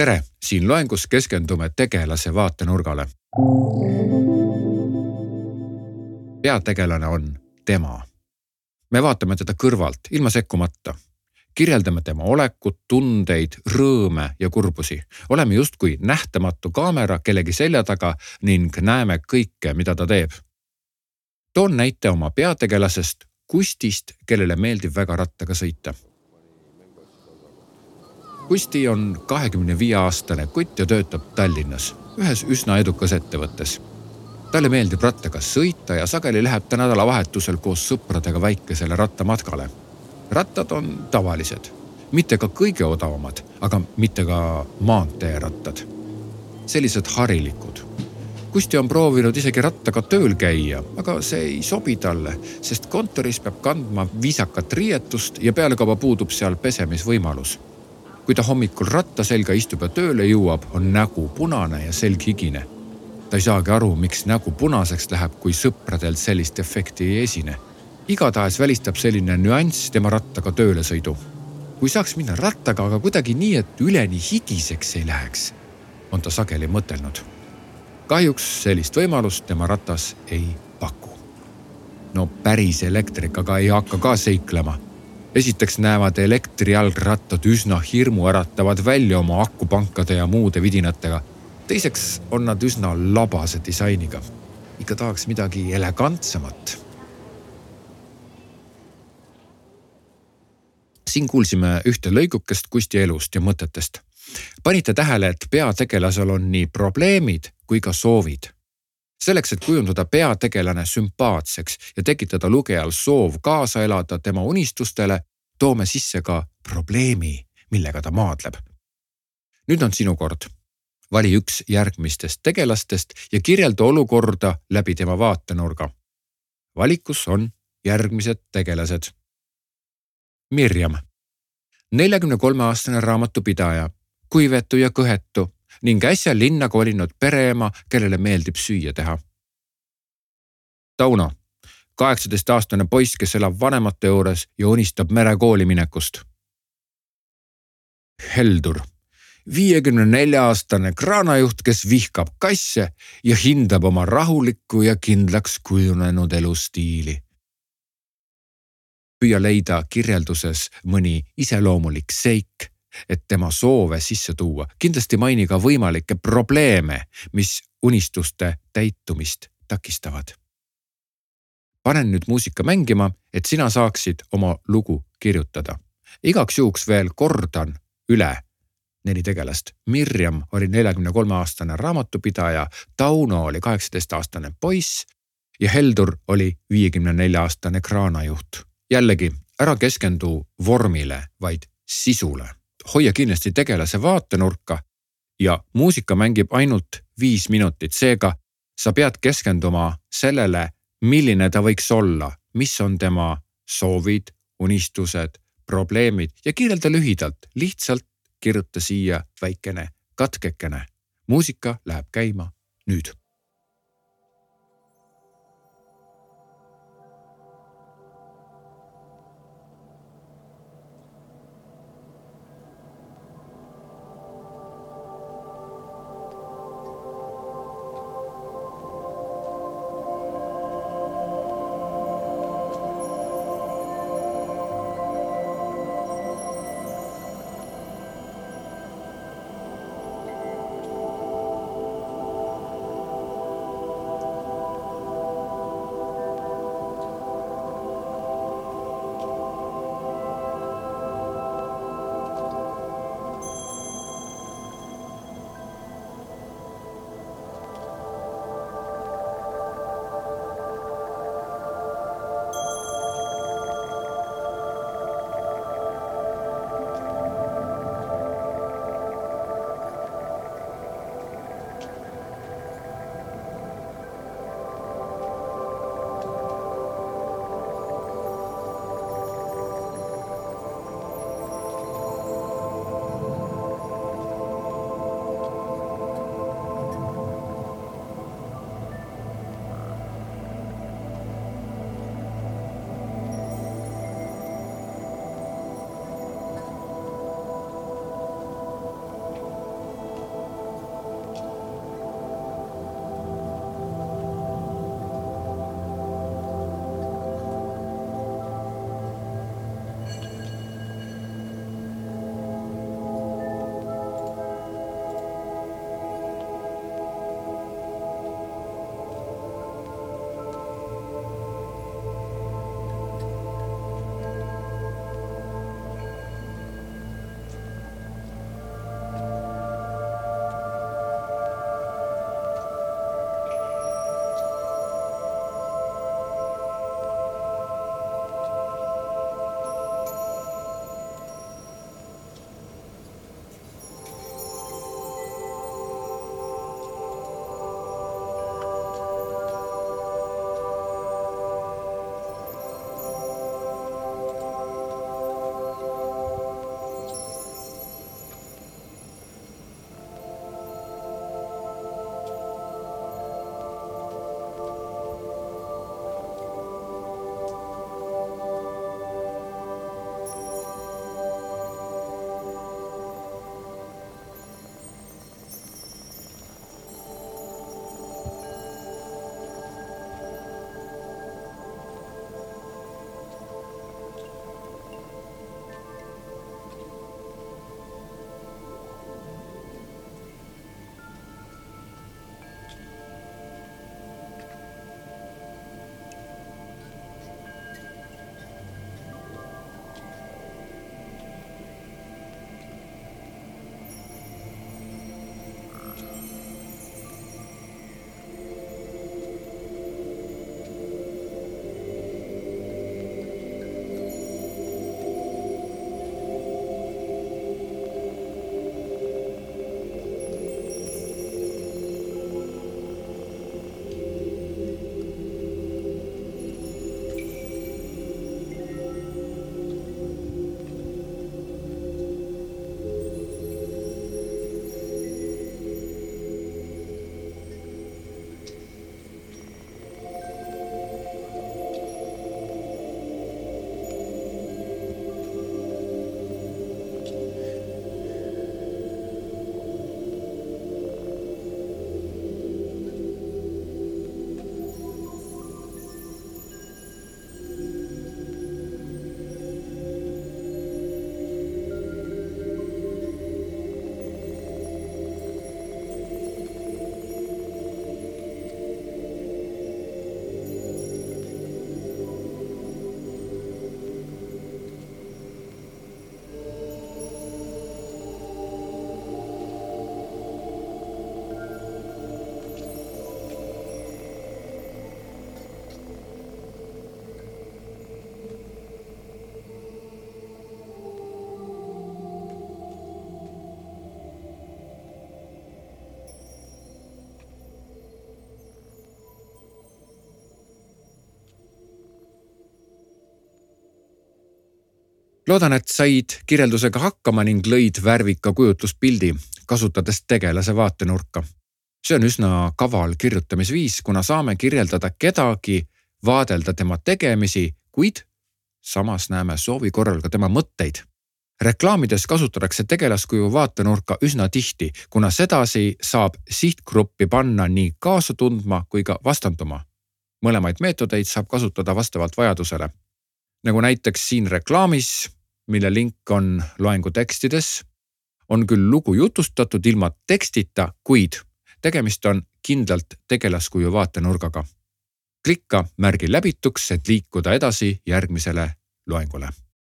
Tere, siin loengus keskendume tegelase vaatenurgale. Peategelane on tema. Me vaatame teda kõrvalt, ilma sekkumata. Kirjeldame tema olekut, tundeid, rõõme ja kurbusi. Oleme justkui nähtamatu kaamera kellegi selja taga ning näeme kõike, mida ta teeb. Toon näite oma peategelasest Kustist, kellele meeldib väga rattaga sõita. Kusti on 25-aastane kutt ja töötab Tallinnas, ühes üsna edukas ettevõttes. Talle meeldib rattaga sõita ja sageli läheb ta nädalavahetusel koos sõpradega väikesele rattamatkale. Rattad on tavalised, mitte ka kõige odavamad, aga mitte ka maanteerattad. Sellised harilikud. Kusti on proovinud isegi rattaga tööl käia, aga see ei sobi talle, sest kontoris peab kandma viisakat riietust ja pealekauba puudub seal pesemisvõimalus. Kui ta hommikul ratta selga istub ja tööle jõuab, on nägu punane ja selg higine. Ta ei saagi aru, miks nägu punaseks läheb, kui sõpradelt sellist efekti ei esine. Igatahes välistab selline nüanss tema rattaga tööle sõidu. Kui saaks minna rattaga, aga kuidagi nii, et üleni higiseks ei läheks, on ta sageli mõtelnud. Kahjuks sellist võimalust tema ratas ei paku. No päris elektrikaga ei hakka ka seiklema. Esiteks näevad elektrijalgrattad üsna hirmuäratavad välja oma akupankade ja muude vidinatega. Teiseks on nad üsna labase disainiga. Ikka tahaks midagi elegantsemat. Siin kuulsime ühte lõigukest Kusti elust ja mõtetest. Panite tähele, et peategelasel on nii probleemid kui ka soovid. Selleks, et kujundada peategelane sümpaatseks ja tekitada lugejal soov kaasa elada tema unistustele, toome sisse ka probleemi, millega ta maadleb. Nüüd on sinu kord. Vali üks järgmistest tegelastest ja kirjelda olukorda läbi tema vaatenurga. Valikus on järgmised tegelased. Mirjam, 43-aastane raamatupidaja, kuivetu ja kõhetu ning äsja linna kolinud pereema, kellele meeldib süüa teha. Tauno, 18-aastane poiss, kes elab vanemate juures ja unistab merekooli minekust. Heldur, 54-aastane kraanajuht, kes vihkab kasse ja hindab oma rahulikku ja kindlaks kujunenud elustiili. Püüa leida kirjelduses mõni iseloomulik seik, et tema soove sisse tuua. Kindlasti maini ka võimalikke probleeme, mis unistuste täitumist takistavad. Panen nüüd muusika mängima, et sina saaksid oma lugu kirjutada. Igaks juhuks veel kordan üle 4 tegelast. Mirjam oli 43-aastane raamatupidaja, Tauno oli 18-aastane poiss ja Heldur oli 54-aastane kraanajuht. Jällegi, ära keskendu vormile, vaid sisule. Hoia kindlasti tegelase vaatenurka ja muusika mängib ainult 5 minutit. Seega sa pead keskenduma sellele, milline ta võiks olla, mis on tema soovid, unistused, probleemid ja kirjelda lühidalt, lihtsalt kirjuta siia väikene katkekene. Muusika läheb käima nüüd. Loodan, et said kirjeldusega hakkama ning lõid värvika kujutluspildi, kasutades tegelase vaatenurka. See on üsna kaval kirjutamisviis, kuna saame kirjeldada kedagi, vaadelda tema tegemisi, kuid samas näeme soovi korral ka tema mõtteid. Reklaamides kasutatakse tegelaskuju vaatenurka üsna tihti, kuna sedasi saab sihtgruppi panna nii kaasa tundma kui ka vastanduma. Mõlemaid meetodeid saab kasutada vastavalt vajadusele. Nagu näiteks siin reklaamis, mille link on loengu tekstides, on küll lugu jutustatud ilma tekstita, kuid tegemist on kindlalt tegelaskuju vaatenurgaga. Klikka märgi läbituks, et liikuda edasi järgmisele loengule.